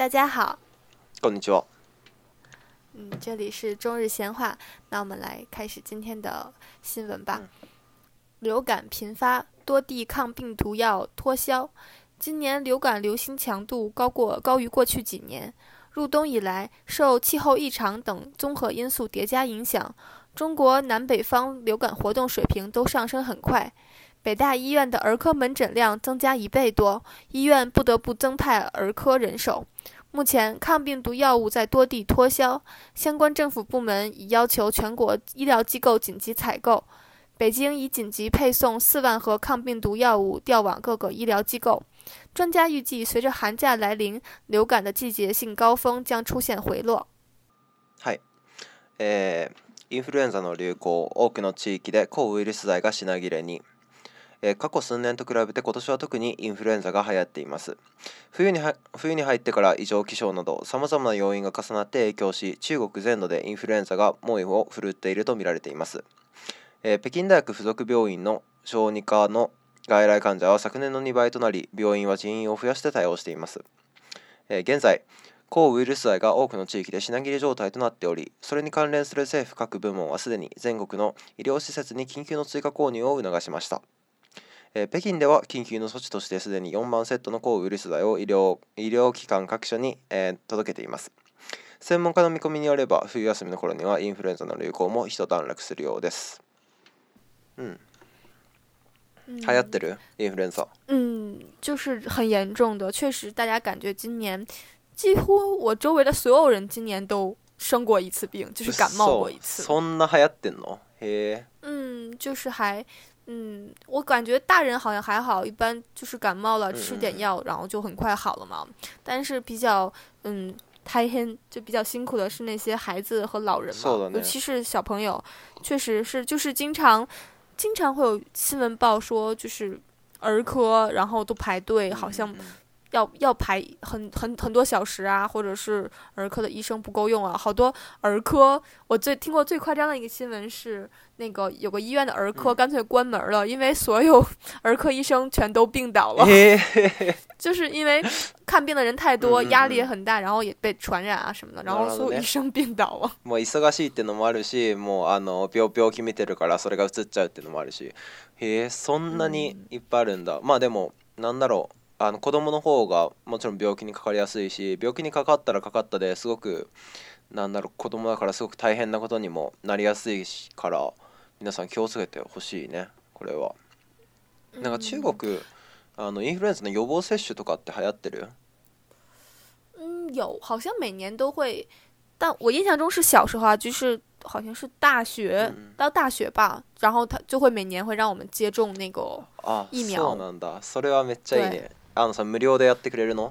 大家好， こんにちは。 这里是中日闲话，那我们来开始今天的新闻吧。流感频发，多地抗病毒药脱销。今年流感流行强度高于过去几年。入冬以来，受气候异常等综合因素叠加影响，中国南北方流感活动水平都上升很快。北大医院的儿科门诊量增加1倍多，医院不得不增派儿科人手。目前，抗病毒药物在多地脱销，相关政府部门已要求全国医疗机构紧急采购。北京已紧急配送4万盒抗病毒药物调往各个医疗机构。专家预計，隨着寒假來臨，流感的季節性高峰將出現回落。 はい、インフルエンザの流行、多くの地域で抗ウイルス剤が品切れに。過去数年と比べて今年は特にインフルエンザが流行っています。冬に入ってから異常気象など様々な要因が重なって影響し、中国全土でインフルエンザが猛威を振るっていると見られています。北京大学附属病院の小児科の外来患者は昨年の2倍となり、病院は人員を増やして対応しています。現在、抗ウイルス剤が多くの地域で品切れ状態となっており、それに関連する政府各部門はすでに全国の医療施設に緊急の追加購入を促しました。北京では緊急の措置としてすでに4万セットの抗ウイルス剤を医療機関各所に、届けています。専門家の見込みによれば、冬休みの頃にはインフルエンザの流行も一段落するようです。流行ってるインフルエンザ？ 就是很严重的，确实，大家感觉今年几乎我周围的所有人今年都生过一次病，就是感冒过一次。 そんな流行ってんの？へえ。就是还。我感觉大人好像还好，一般就是感冒了吃点药，然后就很快好了嘛。但是比较大変就比较辛苦的是那些孩子和老人嘛，尤其是小朋友，确实是就是经常会有新闻报说，就是儿科然后都排队，好像要排很多小时啊，或者是儿科的医生不够用啊，好多儿科。我听过最夸张的一个新闻是，那个有个医院的儿科干脆关门了，因为所有儿科医生全都病倒了，就是因为看病的人太多，压力也很大，然后也被传染啊什么的，然后所有医生病倒了。 もう忙しいってのもあるし、もう病気見てるからそれが移っちゃうってのもあるし、そんなにいっぱいあるんだ。まあでもなんだろう。子供の方がもちろん病気にかかりやすいし、病気にかかったらかかったですごく子供だからすごく大変なことにもなりやすいから、皆さん気をつけてほしいね。これはなんか中国インフルエンザの予防接種とかって流行ってる？ 有，好像每年都会，但我印象中是小时候啊，就是好像是到大学吧，然后他就会每年会让我们接种那个疫苗。 そうなんだ。それはめっちゃいいね。さ無料でやってくれるの？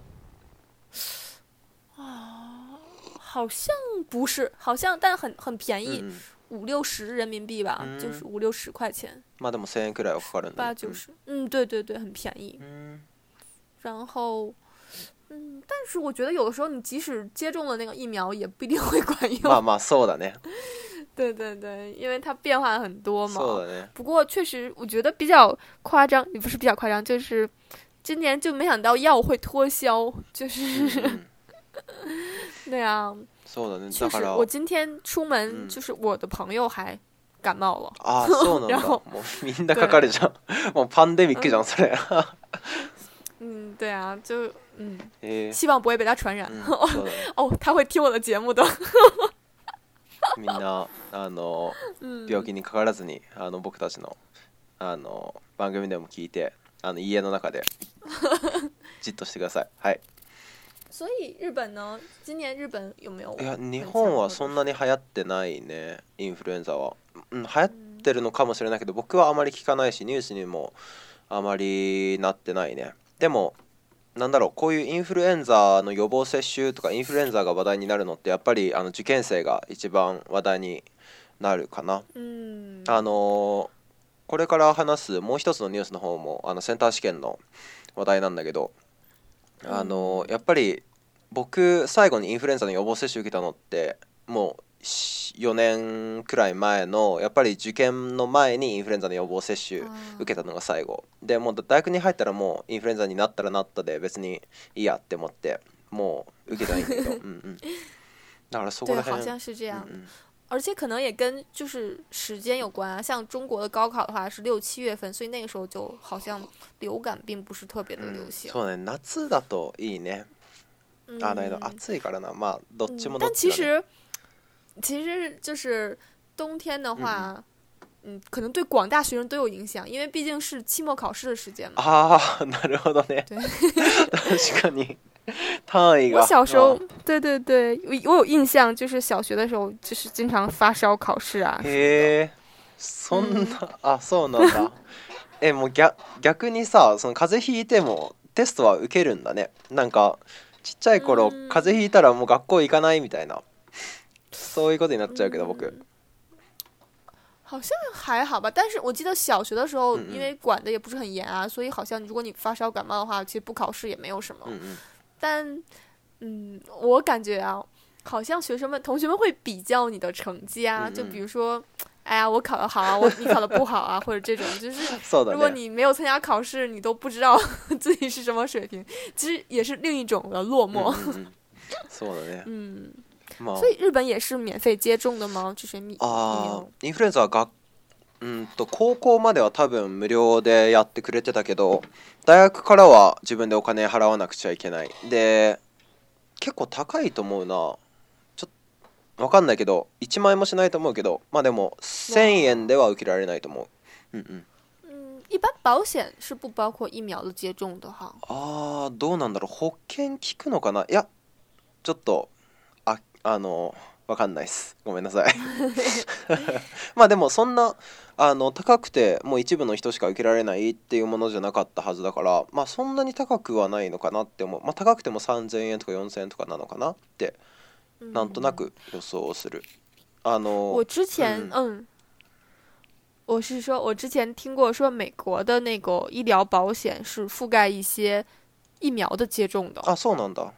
好像不是，好像但很便宜，50-60人民币吧，就是50-60块钱。 まあでも1000円くらいはかかるんだ。 80，对对对，很便宜。然后。但是我觉得有的时候你即使接种了那个疫苗也不一定会管用。 まあそうだね。 对对对，因为它变化很多嘛。 そうだね。 不过确实我觉得比较夸张，也不是比较夸张，就是今年就没想到药会脱销，就是对啊。 そうだね。 确实，我今天出门就是我的朋友还感冒了。 そうなんだ。もうみんなかかるじゃん。もうパンデミックじゃんそれ。 对啊，就希望不会被他传染。他会听我的节目的。 みんな病気にかからずに僕たちの番組でも聞いて家の中でじっとしてください。はい。 所以日本呢？今年日本有没有？ いや日本はそんなに流行ってないね。インフルエンザは流行ってるのかもしれないけど、僕はあまり聞かないしニュースにもあまりなってないね。でもこういうインフルエンザの予防接種とかインフルエンザが話題になるのってやっぱり受験生が一番話題になるかな。これから話すもう一つのニュースの方もセンター試験の話題なんだけど、やっぱり僕最後にインフルエンザの予防接種受けたのってもう4年くらい前の、やっぱり受験の前にインフルエンザの予防接種受けたのが最後で、もう大学に入ったらもうインフルエンザになったらなったで別にいいやって思ってもう受けたいんだけどだからそこら辺对，好像是这样。 嗯而且可能也跟就是时间有关啊，像中国的高考的话是6、7月份，所以那个时候就好像流感并不是特别的流行。 そうね、夏だといいね。だけど暑いからな、まあどっちもどっ但ちだね。 其实就是冬天的话，可能对广大学生都有影响，因为毕竟是期末考试的时间嘛。 ああ、なるほどね。 对確かに。単位が。 我小时候，对对对，我有印象，就是小学的时候，就是经常发烧考试啊。 へえ、そんな、あ、そうなんだ。もう逆にさ、その風邪ひいてもテストは受けるんだね。なんかちっちゃい頃、風邪ひいたらもう学校行かないみたいな、そういうことになっちゃうけど、僕。 好像还好吧，但是我记得小学的时候，因为管的也不是很严啊，所以好像如果你发烧感冒的话，其实不考试也没有什么。但我感觉啊，好像同学们会比较你的成绩啊，就比如说，哎呀，我考得好啊，你考得不好啊，或者这种，就是如果你没有参加考试，你都不知道自己是什么水平，其实也是另一种的落寞。 そうだね。 所以日本也是免费接种的吗？这些疫苗？ インフルエンザは高校までは多分無料でやってくれてたけど、大学からは自分でお金払わなくちゃいけない。で、結構高いと思うな。ちょっと分かんないけど、1万円もしないと思うけど、まあでも1000円では受けられないと思う。 一般保险是不包括疫苗的接种的哈。 どうなんだろう。保険効くのかな。いや、ちょっとわかんないです。ごめんなさい。まあでもそんな高くてもう一部の人しか受けられないっていうものじゃなかったはずだから、まあそんなに高くはないのかなって思う。まあ高くても3000円とか4000円とかなのかなってなんとなく予想する。 我之前我是说，我之前听过说美国的那个医疗保险是覆盖一些疫苗的接种的。 あ、そうなんだ。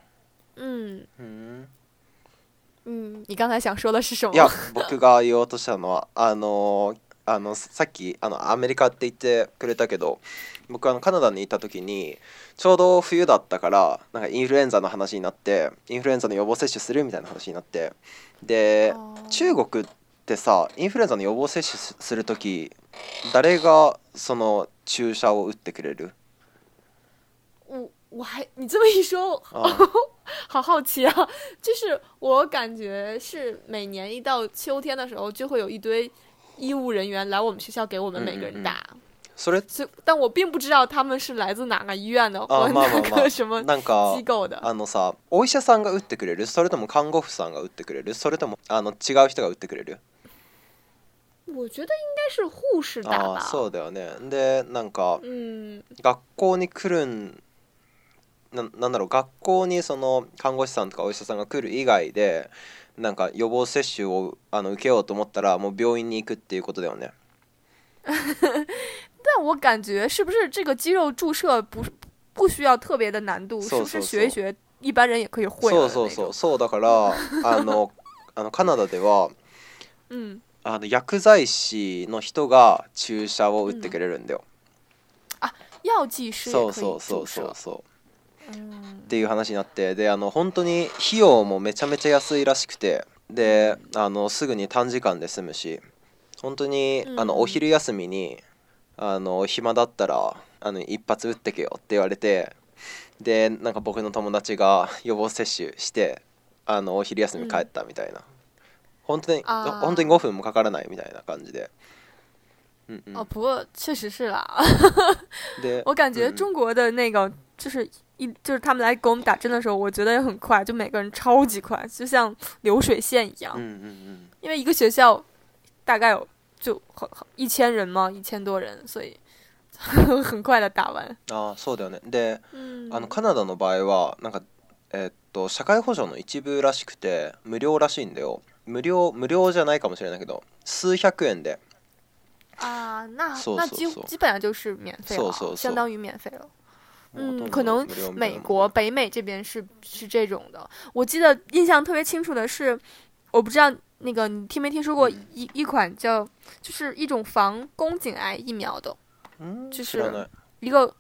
你刚才想说的是什么？ いや、僕が言おうとしたのはさっきアメリカって言ってくれたけど、僕カナダにいた時にちょうど冬だったから、なんかインフルエンザの話になって、インフルエンザの予防接種するみたいな話になって、で中国ってさ、インフルエンザの予防接種する時誰がその注射を打ってくれる？ 你这么一说，好好奇啊！就是我感觉是每年一到秋天的时候，就会有一堆医务人员来我们学校给我们每个人打。但我并不知道他们是来自哪个医院的，或哪个什么机构的。 さ、お医者さんが打ってくれる？それとも看護婦さんが打ってくれる？それとも違う人が打ってくれる？ 我觉得应该是护士打吧。 そうだよね。で、なんか、学校に来るなんだろう、学校にその看護師さんとかお医者さんが来る以外で、なんか予防接種を受けようと思ったらもう病院に行くっていうことだよね。 但我感觉是不是这个肌肉注射不需要特别的难度，是不是学一学一般人也可以会的那种？ そうだからカナダでは薬剤師の人が注射を打ってくれるんだよ。 药剂師也可以注射。 っていう話になって、で本当に費用もめちゃめちゃ安いらしくて、ですぐに短時間で済むし、本当にお昼休みに暇だったら一発打ってけよって言われて、でなんか僕の友達が予防接種してお昼休み帰ったみたいな、本当に5分もかからないみたいな感じで。 不过确实是啦。我感觉中国的那个就是他们来给我们打针的时候，我觉得也很快，就每个人超级快，就像流水线一样。因为一个学校大概有就1000人嘛，1000多人，所以很快的打完。 そうだよね。で、カナダの場合はなんか社会保障の一部らしくて無料らしいんだよ。無料じゃないかもしれないけど、数百円で。 那基本上就是免费了，相当于免费了。可能美国北美这边是这种的。我记得印象特别清楚的是，我不知道那个你听没听说过一款就是一种防宫颈癌疫苗的，就是一个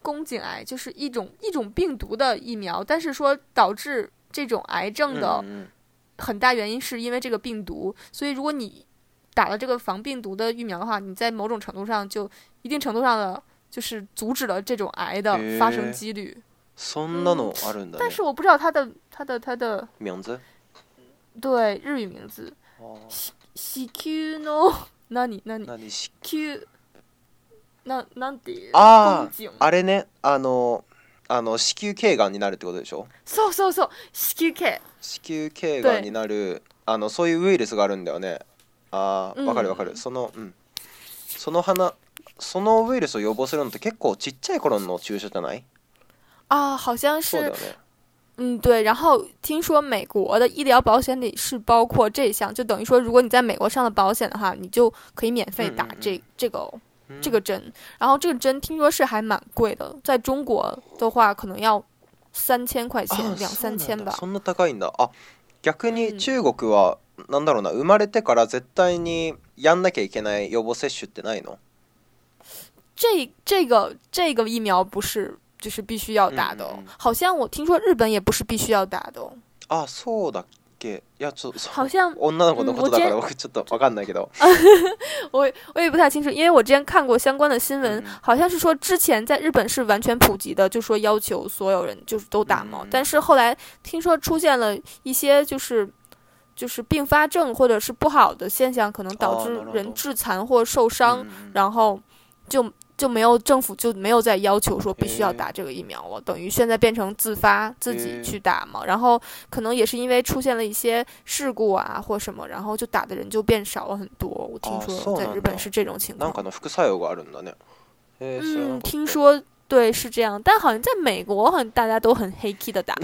宫颈癌，就是一种病毒的疫苗，但是说导致这种癌症的很大原因是因为这个病毒，所以如果你打了这个防病毒的疫苗的话，你在某种程度上就一定程度上的就是阻止了这种癌的发生几率。 そんなのあるんだね。 但是我不知道它的名字？ 对，日语名字。子宮の何子宮なんていう？ あれね、子宮頸がんになるってことでしょ？ そう子宮頸がんになるそういうウイルスがあるんだよね。わかる。そのウイルスを予防するのって結構ちっちゃい頃の注射じゃない？ 好像是。 そうだよね。 对，然后听说美国的医疗保险里是包括这项，就等于说，如果你在美国上了保险的话，你就可以免费打这个针。然后这个针听说是还蛮贵的，在中国的话可能要3000块钱，2、3千吧。 そんな高いんだ。逆に中国はなんだろうな、生まれてから絶対にやんなきゃいけない予防接種ってないの？ 这个疫苗不是。就是必须要打的好像我听说日本也不是必须要打的そうだっけ？いや好像女の子のことだから僕ちょっとわかんないけど我也不太清楚，因为我之前看过相关的新闻，好像是说之前在日本是完全普及的，就说要求所有人就是都打嘛，但是后来听说出现了一些就是并发症或者是不好的现象，可能导致人致残或受伤，然后就没有政府就没有再要求说必须要打这个疫苗了，等于现在变成自发自己去打嘛。然后可能也是因为出现了一些事故啊或什么，然后就打的人就变少了很多。我听说在日本是这种情况。 なんかの副作用があるんだね。 听说对是这样，但好像在美国好像大家都很黑 key 的打。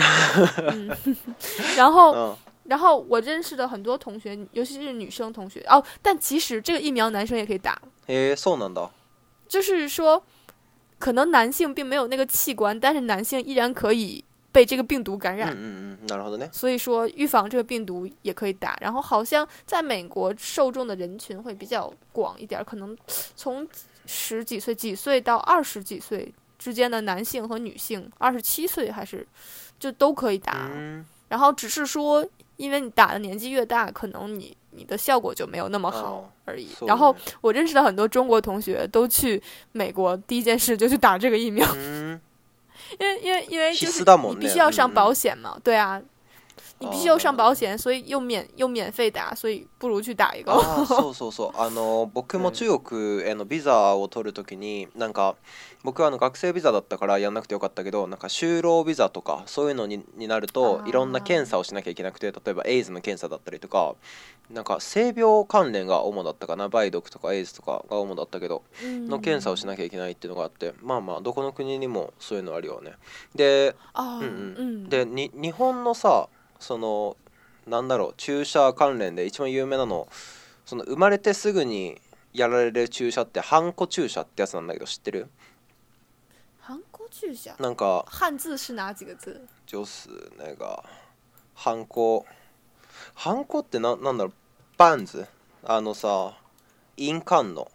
然后我认识的很多同学，尤其是女生同学但其实这个疫苗男生也可以打。 そうなんだ。 就是说可能男性并没有那个器官，但是男性依然可以被这个病毒感染。 なるほどね。 所以说预防这个病毒也可以打。然后好像在美国受众的人群会比较广一点，可能从10几岁到20几岁之间的男性和女性，27岁还是就都可以打。然后只是说因为你打的年纪越大，可能你的效果就没有那么好而已。然后我认识的很多中国同学都去美国，第一件事就去打这个疫苗。因为就是你必须要上保险嘛，对啊，你必须要上保险，所以又免费打，所以不如去打一个。 そう僕も中国へのビザを取るときになんか僕は学生ビザだったからやんなくてよかったけど、なんか就労ビザとかそういうのになるといろんな検査をしなきゃいけなくて、例えばエイズの検査だったりとか、なんか性病関連が主だったかな、梅毒とかエイズとかが主だったけどの検査をしなきゃいけないっていうのがあって、まあどこの国にもそういうのあるよね。で、で日本のさ、そのなんだろう、注射関連で一番有名なの、その生まれてすぐにやられる注射ってハンコ注射ってやつなんだけど知ってる？ ハンコ注射なんか汉字是哪几个字？ 就是那个ハンコってなんだろう、バンズさ、印鑑の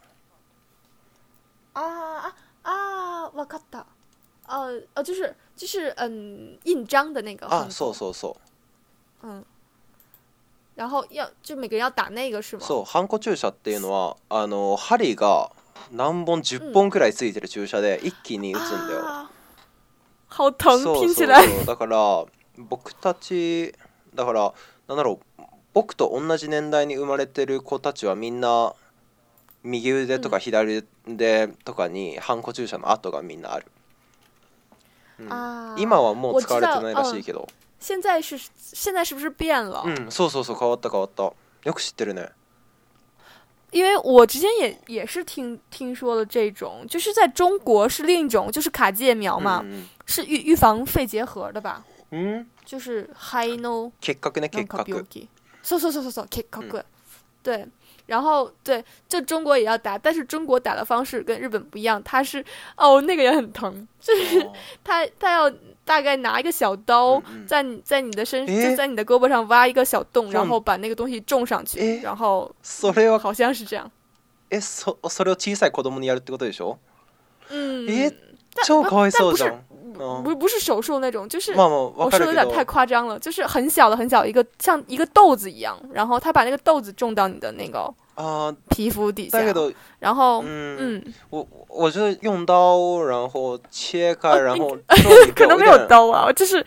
わかった就是印章的那个そう然后就每个人要打那个是吗？ そうハンコ注射っていうのは針が何本10本くらいついてる注射で一気に打つんだよ。 好疼，听起来。 だから僕たちだからなんだろう、僕と同じ年代に生まれてる子たちはみんな右腕とか左腕とかにハンコ注射の跡がみんなある。今はもう使われてないらしいけど。 现在是不是变了？ そう変わった。よく知ってるね。 因为我之前也是听说了这种，就是在中国是另一种，就是卡介苗嘛，是预防肺结核的吧？就是肺の結核ね、結核。 そう結核。对，然后对，就中国也要打，但是中国打的方式跟日本不一样，它是那个也很疼，就是他要大概拿一个小刀在你的身就在你的胳膊上挖一个小洞，然后把那个东西种上去，然后好像是这样。 それを小さい子供にやるってことでしょ？ 超かわいそうじゃん。 不是手术那种，就是まあまあ我说的有点太夸张了，就是很小的很小一个，像一个豆子一样，然后他把那个豆子种到你的那个皮肤底下，然后我就用刀，然后切开，然后可能没有刀啊，这是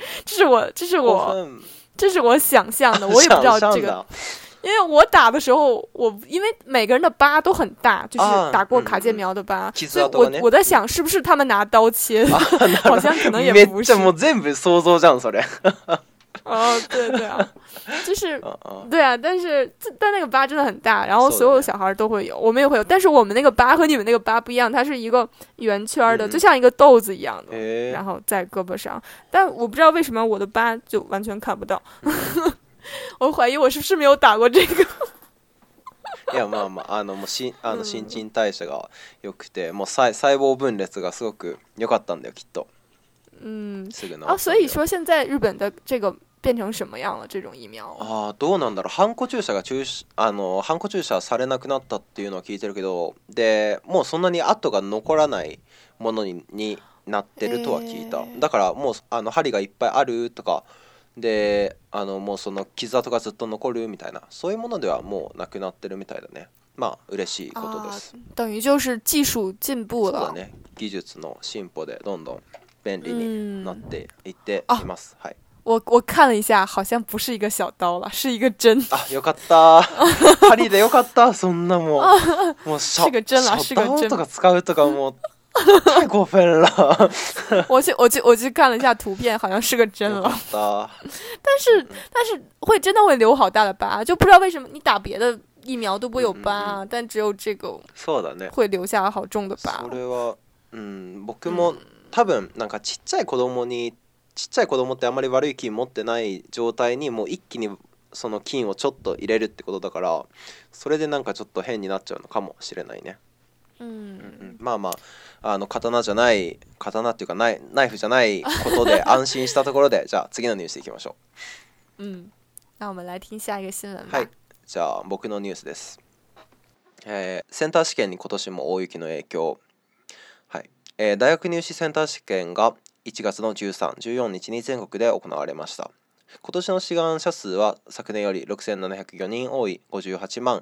我想象的，我也不知道这个。因为我打的时候，因为每个人的疤都很大，就是打过卡介苗的疤，所以我在想是不是他们拿刀切，好像可能也不是。 もう全部想像じゃんそれ。 对啊，就是对啊，但那个疤真的很大，然后所有小孩都会有，我们也会有，但是我们那个疤和你们那个疤不一样，它是一个圆圈的，就像一个豆子一样的，然后在胳膊上，但我不知道为什么我的疤就完全看不到。我怀疑我是不是没有打过这个。 いやまあまあもう新陳代謝が良くて、もう細胞分裂がすごく良かったんだよきっと。すぐ治った。 所以说现在日本的这个变成什么样了？这种疫苗？ どうなんだろう。ハンコ注射されなくなったっていうのは聞いてるけど、でもうそんなに跡が残らないものになってるとは聞いた。だからもう針がいっぱいあるとか。でもうその傷跡がずっと残るみたいな、そういうものではもうなくなってるみたいだね。まあ嬉しいことです。 等于就是技术進步了。 そうだね。技術の進歩でどんどん便利になっていっています。はい。 我看了一下，好像不是一个小刀了，是一个针。 よかった。針でよかった。そんなもう是个针了，是个针。 とか使うとかもう。太过分了！ 我去看了一下图片，好像是个针了。但是会真的会留好大的疤，就不知道为什么你打别的疫苗都不会有疤，但只有这个会留下好重的疤。 それは僕も多分なんかちっちゃい子供ってあまり悪い菌持ってない状態にもう一気にその菌をちょっと入れるってことだから、それでなんかちょっと変になっちゃうのかもしれないね。まあまあ刀っていうかナイフじゃないことで安心したところでじゃあ次のニュースいきましょう。 那我们来听下一个新闻吧。 はい、じゃあ僕のニュースです。センター試験に今年も大雪の影響。はい、大学入試センター試験が1月の13、14日に全国で行われました。今年の志願者数は昨年より6704人多い58万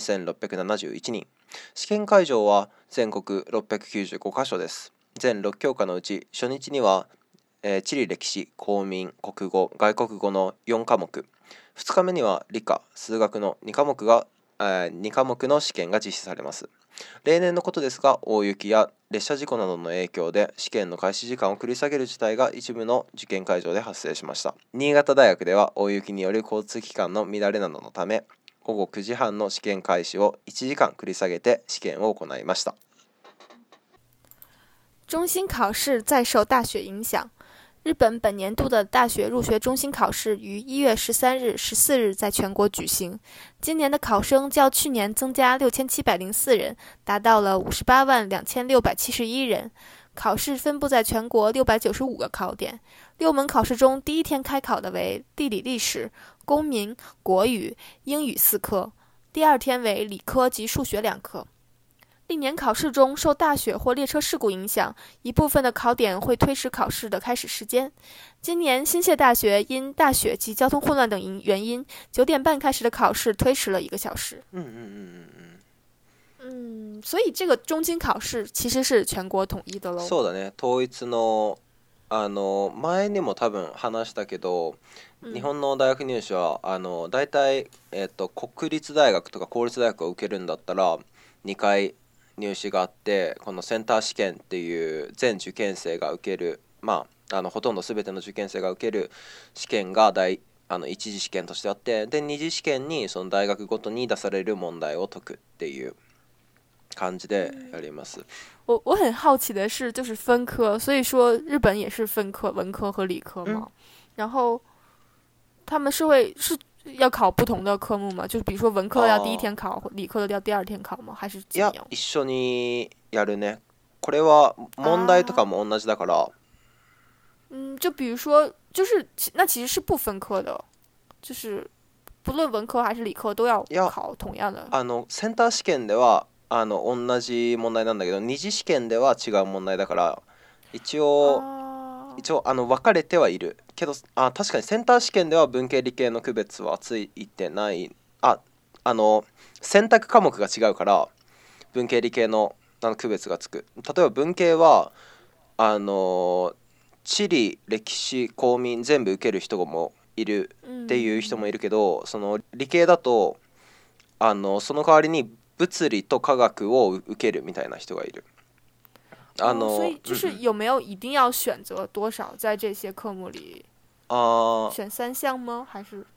2671人。試験会場は全国695カ所です。全6教科のうち初日には、地理歴史、公民、国語、外国語の4科目、2日目には理科、数学の2科目の試験が実施されます。例年のことですが、大雪や列車事故などの影響で試験の開始時間を繰り下げる事態が一部の受験会場で発生しました。新潟大学では大雪による交通機関の乱れなどのため、午後9時半の試験開始を1時間繰り下げて試験を行いました。 中心考试再受大雪影响。日本本年度的大学入学中心考试于1月13日、14日在全国举行。今年的考生较去年增加6704人，达到了582671人。考试分布在全国695个考点。6门考试中，第一天开考的为地理历史、公民、国语、英语4科，第二天为理科及数学2科。历年考试中受大雪或列车事故影响，一部分的考点会推迟考试的开始时间。今年新泻大学因大雪及交通混乱等原因，9点半开始的考试推迟了1个小时。所以这个中期考試其實是全国統一的咯。 そうだね。統一の前にも多分話したけど、日本の大学入試はだいたい国立大学とか公立大学を受けるんだったら2回入試があって、このセンター試験っていう全受験生が受ける、ほとんど全ての受験生が受ける試験が一次試験としてあって、で二次試験にその大学ごとに出される問題を解くっていう感じでやります。 我很好奇的是，就是分科，所以说日本也是分科，文科和理科嘛。然后他们是要考不同的科目吗？就是比如说文科要第一天考，理科的要第二天考吗？还是怎么样？ いや、一緒にやるね。これは問題とかも同じだから。 就比如说，就是那其实是不分科的，就是不論文科还是理科都要考同样的。 センター試験では同じ問題なんだけど、二次試験では違う問題だから、 一応哦， 分かれてはいるけど、確かにセンター試験では文系理系の区別はついてない。選択科目が違うから文系理系の区別がつく。例えば文系は地理歴史公民全部受ける人もいるっていう人もいるけど、その理系だとその代わりに物理と科学を受けるみたいな人がいる。 所以就是有没有一定要选择多少在这些科目里？选3项吗？还是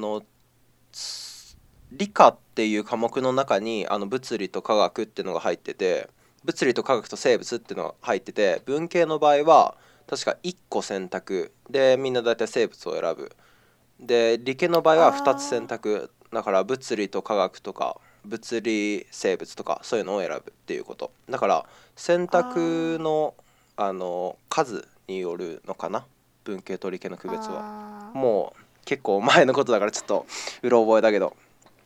理科っていう科目の中に物理と科学っていうのが入ってて、物理と科学と生物っていうのが入ってて、文系の場合は確か1個選択でみんな大体生物を選ぶ。で理系の場合は2つ選択だから物理と科学とか物理生物とかそういうのを選ぶっていうこと。だから選択の数によるのかな、文系と理系の区別は。もう結構前のことだからちょっとうろ覚えだけど。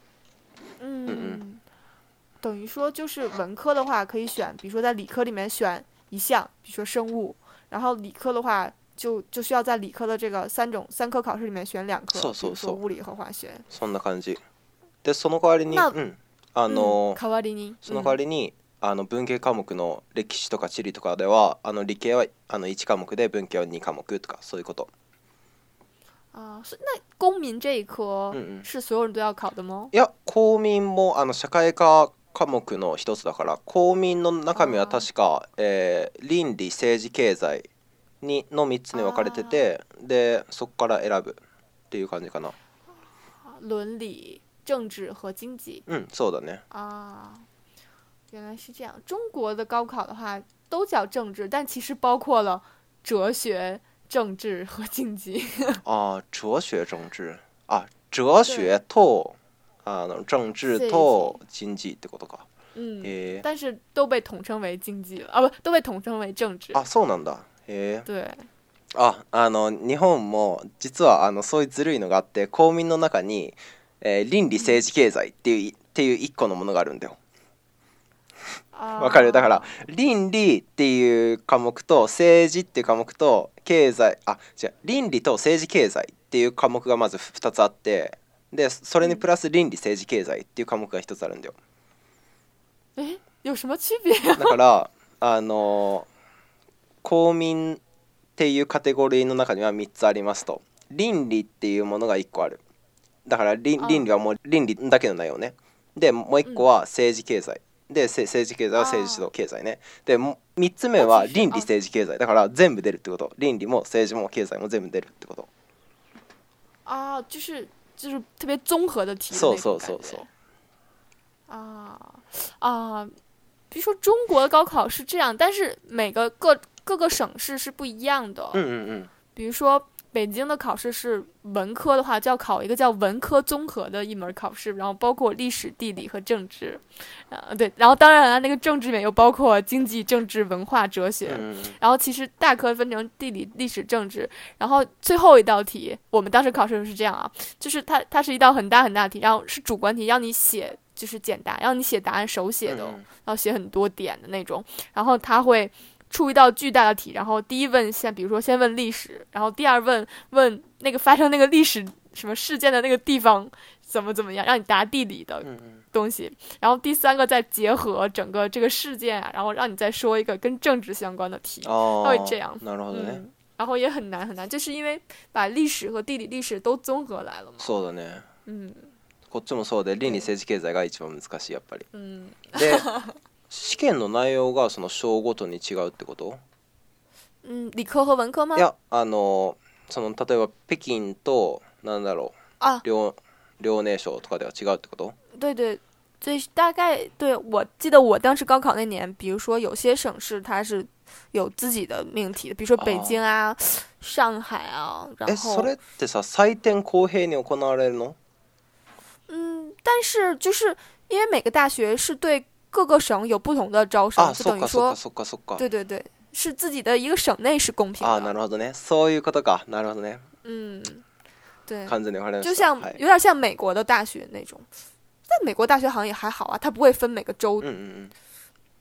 等于说就是文科的话可以选，比如说在理科里面选一项，比如说生物，然后理科的话就需要在理科的这个三科考试里面选2科，比如说物理和化学。 そんな感じで、その代わりに代わりにその代わりに文系科目の歴史とか地理とかでは理系は1科目で文系は2科目とかそういうこと。 那公民这一科是所有人都要考的吗？ いや、公民も社会科科目の一つだから、公民の中身は確か、倫理政治経済の3つに分かれてて、でそこから選ぶっていう感じかな。 伦理、政治和经济。 そうだね。 原来是这样。中国的高考的话都叫政治，但其实包括了哲学、政治和经济。 哲学政治哲学と政治と经济ってことか。 但是都被统称为经济了不，都被统称为政治。 そうなんだ。 对。 日本も実はそういうずるいのがあって、公民の中に、倫理政治経済っていう一個のものがあるんだよ。わかる？だから倫理っていう科目と政治っていう科目と経済倫理と政治経済っていう科目がまず2つあって、でそれにプラス倫理政治経済っていう科目が1つあるんだよ。 有什么区别？ だから公民っていうカテゴリーの中には3つありますと。倫理っていうものが1個ある。だから倫理はもう倫理だけの内容ね。でもう1個は政治経済で、政治経済は政治と経済ね。で3つ目は倫理政治経済だから全部出るってこと。倫理も政治も経済も全部出るってこと。 就是特别综合的题的那种感觉。 そう比如说中国的高考是这样，但是各个省市是不一样的。比如说北京的考试是文科的话，就要考一个叫文科综合的一门考试，然后包括历史、地理和政治。对，然后当然了，那个政治里面又包括经济、政治、文化、哲学。然后其实大科分成地理、历史、政治。然后最后一道题，我们当时考试是这样就是它是一道很大很大的题，然后是主观题，让你写就是简答，让你写答案手写的，然后写很多点的那种。然后它会出一道巨大的题，然后第一问比如说先问历史，然后第二问那个发生那个历史什么事件的那个地方怎么样，让你答地理的东西，然后第三个再结合整个这个事件然后让你再说一个跟政治相关的题，它会这样。 なるほどね。 然后也很难很难，就是因为把历史和地理历史都综合来了嘛。 そうだね。こっちもそうで、倫理政治経済が一番難しいやっぱり。で試験の内容がその章ごとに違うってこと？ 理科和文科吗？ いやその例えば北京となんだろう遼寧省とかでは違うってこと？ 对，所以大概对我记得我当时高考那年，比如说有些省市它是有自己的命题的，比如说北京上海然后それってさ採点公平に行われるの？ 但是就是因为每个大学是对各个省有不同的招生，就等于说对，是自己的一个省内是公平的。 なるほどね。そういうことか。なるほどね。 对， 完全に分かりました。 就像有点像美国的大学那种，但美国大学好像也还好它不会分每个州。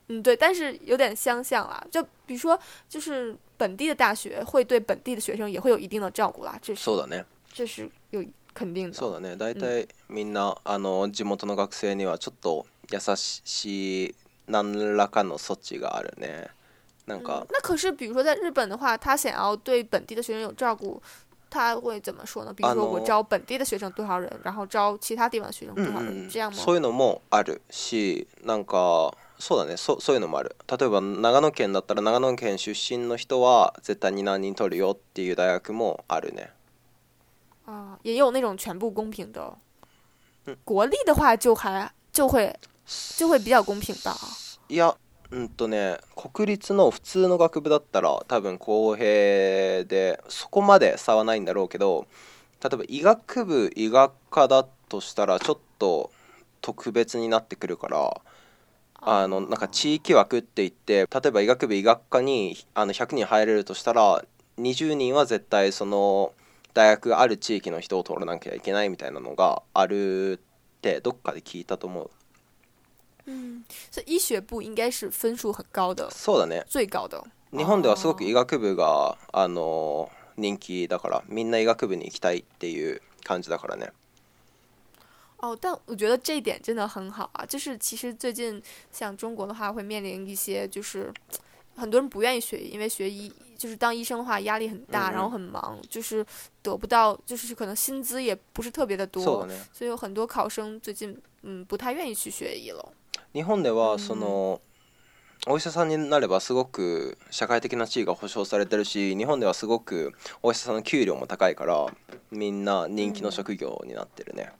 对，但是有点相像啦。就比如说，就是本地的大学会对本地的学生也会有一定的照顾啦， そうだね。 这是有肯定的。 そうだね。大体みんな地元の学生にはちょっと優しい何らかの措置があるね。なんか、 那可是比如说在日本的话，他想要对本地的学生有照顾，他会怎么说呢？比如说我招本地的学生多少人，然后招其他地方的学生多少人，这样吗？ そういうのもあるし、なんかそうだね、そういうのもある。例えば長野県だったら長野県出身の人は絶対に何人取るよっていう大学もあるね。 也有那种全部公平的。国立的话就会比较公平吧。 いや、国立の普通の学部だったら多分公平でそこまで差はないんだろうけど、例えば医学部医学科だとしたらちょっと特別になってくるから、なんか地域枠って言って、例えば医学部医学科に100人入れるとしたら20人は絶対その大学がある地域の人を取らなきゃいけないみたいなのがあるってどっかで聞いたと思う。 所以医学部应该是分数很高的。 そうだね。 最高的。 日本ではすごく医学部が人気だから、みんな医学部に行きたいっていう感じだからね。 但我觉得这一点真的很好啊！就是其实最近像中国的话，会面临一些就是很多人不愿意学医，因为学医就是当医生的话压力很大，然后很忙，就是得不到，就是可能薪资也不是特别的多，所以有很多考生最近不太愿意去学医了。 日本ではその、お医者さんになればすごく社会的な地位が保障されてるし、日本ではすごくお医者さんの給料も高いからみんな人気の職業になってるね。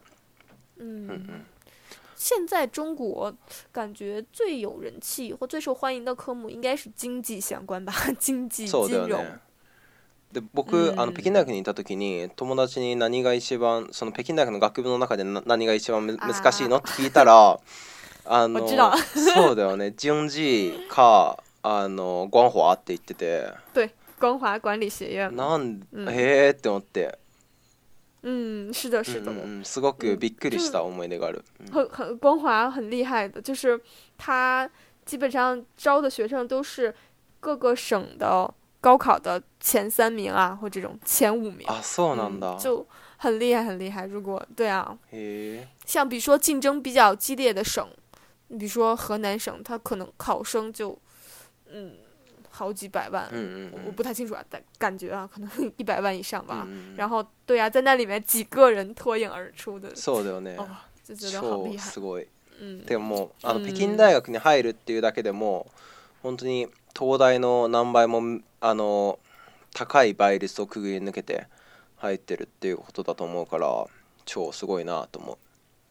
现在中国感觉最有人气或最受欢迎的科目应该是经济相关吧，经济金融。 そうだよね。で僕、北京大学にいた時に友達に何が一番その北京大学の学部の中で何が一番難しいのって聞いたら我知道そうだよね、经济か光华って言ってて。 对，光华管理学院。 へーって思って。 是的，是的， すごくびっくりした思い出がある。 光华很厉害的，就是他基本上招的学生都是各个省的高考的前3名啊，或这种前5名。 そうなんだ。 就很厉害，很厉害。如果对啊， へー。 像比如说竞争比较激烈的省，比如说河南省，它可能考生就好几百万，我不太清楚啊，但感觉啊，可能100万以上吧。然后对啊，在那里面几个人脱颖而出的， そうだよね。 就觉得好厉害。 超すごい。でも北京大学に入るっていうだけでも本当に東大の何倍も高い倍率をくぐり抜けて入ってるっていうことだと思うから超すごいなと思う。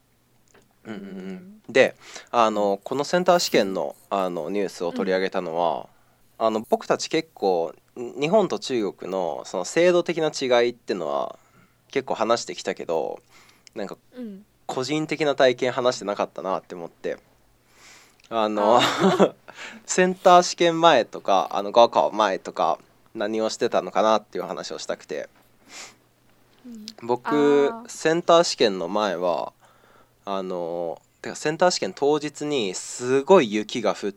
でこのセンター試験のニュースを取り上げたのは、僕たち結構日本と中国のその制度的な違いっていうのは結構話してきたけど、なんか個人的な体験話してなかったなって思って、センター試験前とか高考前とか何をしてたのかなっていう話をしたくて、僕センター試験の前はてかセンター試験当日にすごい雪が降って、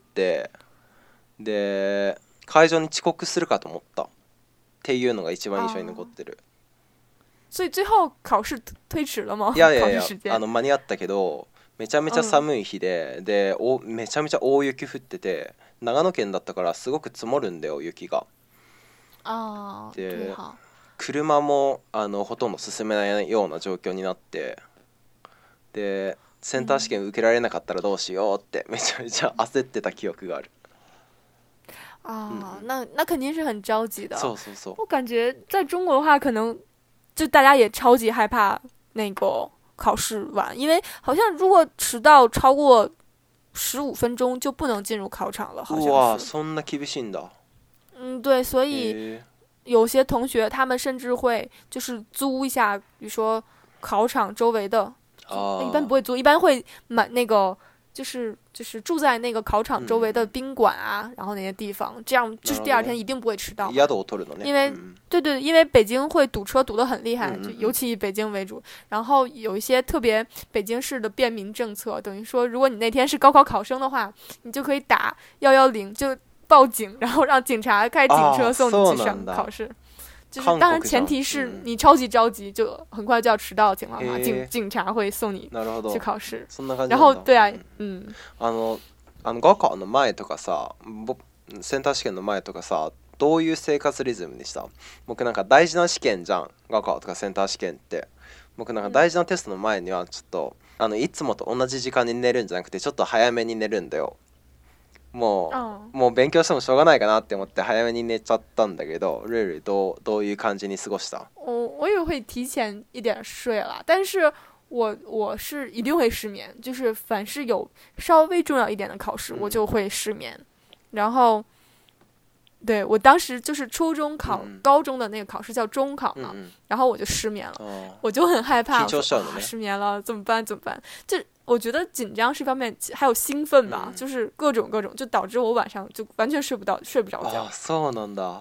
で会場に遅刻するかと思ったっていうのが一番印象に残ってる。 所以最後考試推遲了嗎？ いや間に合ったけどめちゃめちゃ寒い日で、めちゃめちゃ大雪降ってて、長野県だったからすごく積もるんだよ雪が。で車もほとんど進めないような状況になって、でセンター試験受けられなかったらどうしようってめちゃめちゃ焦ってた記憶がある。 那肯定是很着急的。 そうそうそう。 我感觉在中国的话，可能就大家也超级害怕那个考试晚，因为好像如果迟到超过15分钟就不能进入考场了，好像是。 哇，そんな厳しいんだ。 对，所以有些同学他们甚至会就是租一下，比如说考场周围的，一般不会租，一般会买那个就是住在那个考场周围的宾馆啊，然后那些地方，这样就是第二天一定不会迟到。 宿を取るのね。 因为对，因为北京会堵车堵得很厉害，就尤其以北京为主。然后有一些特别北京市的便民政策，等于说如果你那天是高考考生的话，你就可以打110就报警，然后让警察开警车送你去上考试。就是当然前提是你超级着急，就很快就要迟到的情况下，警察会送你去考试。然后对啊， 高考の前とかさ、センター試験の前とかさ、どういう生活リズムでした？僕なんか大事な試験じゃん、高考とかセンター試験って。僕なんか大事なテストの前にはちょっといつもと同じ時間に寝るんじゃなくてちょっと早めに寝るんだよ。もう勉強してもしょうがないかなって思って早めに寝ちゃったんだけど、ルールどういう感じに過ごした？ 我也会提前一点睡了，但是我是一定会失眠，就是凡是有稍微重要一点的考试，我就会失眠。然后对，我当时就是初中考高中的那个考试叫中考嘛，然后我就失眠了，我就很害怕，失眠了怎么办？就我觉得紧张是一方面，还有兴奋吧，就是各种，就导致我晚上就完全睡不着觉。 そうなんだ。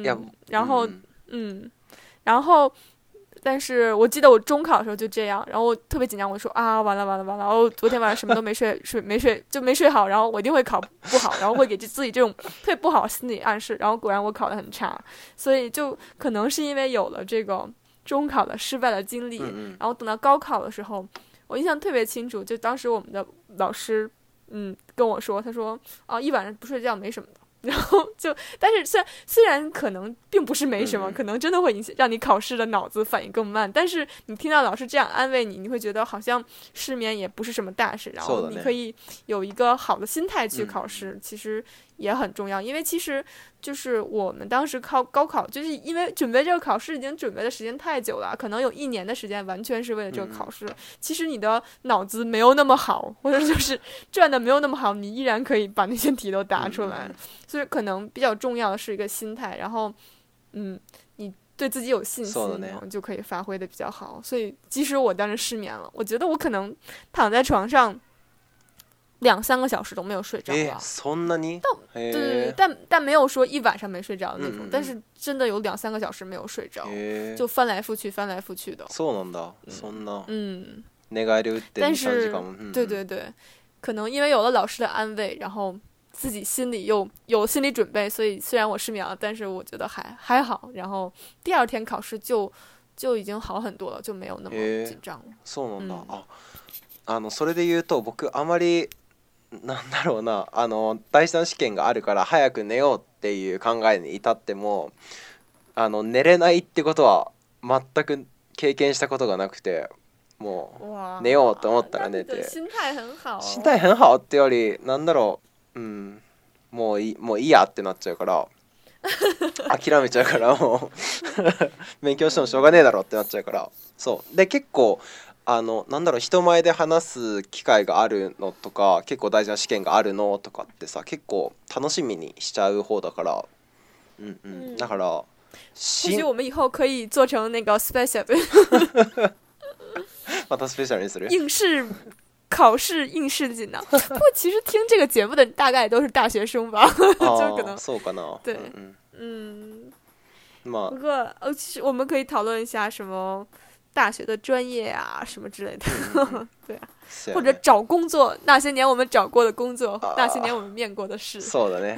然后，但是我记得我中考的时候就这样，然后我特别紧张，我说啊，完了，我昨天晚上什么都没睡好，然后我一定会考不好，然后会给自己这种特别不好的心理暗示，然后果然我考得很差，所以就可能是因为有了这个中考的失败的经历，然后等到高考的时候。我印象特别清楚，就当时我们的老师，跟我说，他说，一晚上不睡觉没什么的。然后但是虽然可能并不是没什么，可能真的会让你考试的脑子反应更慢，但是你听到老师这样安慰你，你会觉得好像失眠也不是什么大事，然后你可以有一个好的心态去考试，其实也很重要。因为其实就是我们当时高考，就是因为准备这个考试已经准备的时间太久了，可能有1年的时间完全是为了这个考试。其实你的脑子没有那么好，或者就是转的没有那么好，你依然可以把那些题都答出来。所以可能比较重要的是一个心态，然后你对自己有信心，然后就可以发挥的比较好。所以即使我当时失眠了，我觉得我可能躺在床上2-3个小时都没有睡着了。 そんなに？ 对，但没有说一晚上没睡着的那种，但是真的有2-3个小时没有睡着，就翻来覆去的。 そうなんだ。そんな。寝返り打って2、3時間も。 对，可能因为有了老师的安慰，然后自己心里又有心理准备，所以虽然我失眠了，但是我觉得还好。然后第二天考試就已经好很多了，就没有那么紧張了。 そうなんだ。それで言うと僕あまりなんだろうな、第3試験があるから早く寝ようっていう考えに至っても寝れないってことは全く経験したことがなくて、もう寝ようと思ったら寝て。 心態很好。 心態很好ってよりなんだろう、もういいやってなっちゃうから諦めちゃうからもう勉強してもしょうがねえだろってなっちゃうから。そうで結構なんだろう、人前で話す機会があるのとか結構大事な試験があるのとかってさ、結構楽しみにしちゃう方だから、だから或许我们以后可以做成那个 special またスペシャルにする考试应试锦囊。不过其实听这个节目的大概都是大学生吧，就可能そうかな。 对，不过其实我们可以讨论一下什么大学的专业啊什么之类的，对啊，或者找工作，那些年我们找过的工作，那些年我们面过的试。 そうだね。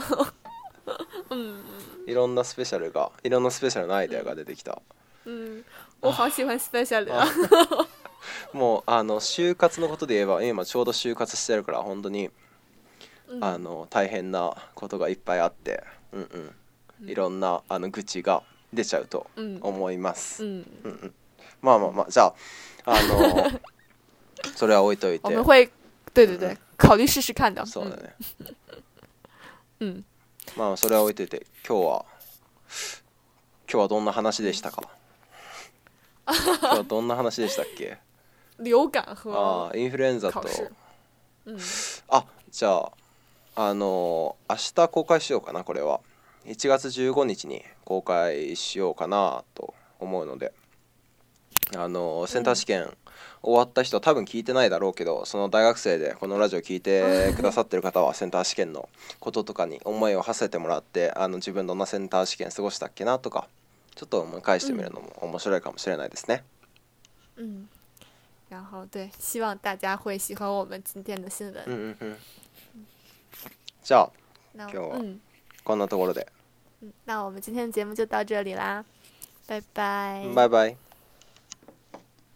いろんなスペシャルのアイデアが出てきた。 我好喜欢 special 啊。 もう就活のことで言えば今ちょうど就活してるから本当に大変なことがいっぱいあって、いろんな愚痴が出ちゃうと思います。まあじゃあそれは置いといて。 我们会对考虑试试看的。 そうだね。まあそれは置いといて、今日はどんな話でしたか？今日はどんな話でしたっけ？ 流感和インフルエンザと。じゃあ明日公開しようかな。これは1月15日に公開しようかなと思うので、 センター試験終わった人多分聞いてないだろうけど、その大学生でこのラジオ聞いてくださってる方はセンター試験のこととかに思いを馳せてもらって、自分どんなセンター試験過ごしたっけなとかちょっと思い返してみるのも面白いかもしれないですね。 嗯，然后对，希望大家会喜欢我们今天的新闻。 じゃあ那今日はこんなところで、 那我们今天的节目就到这里啦，拜拜。 バイバイ。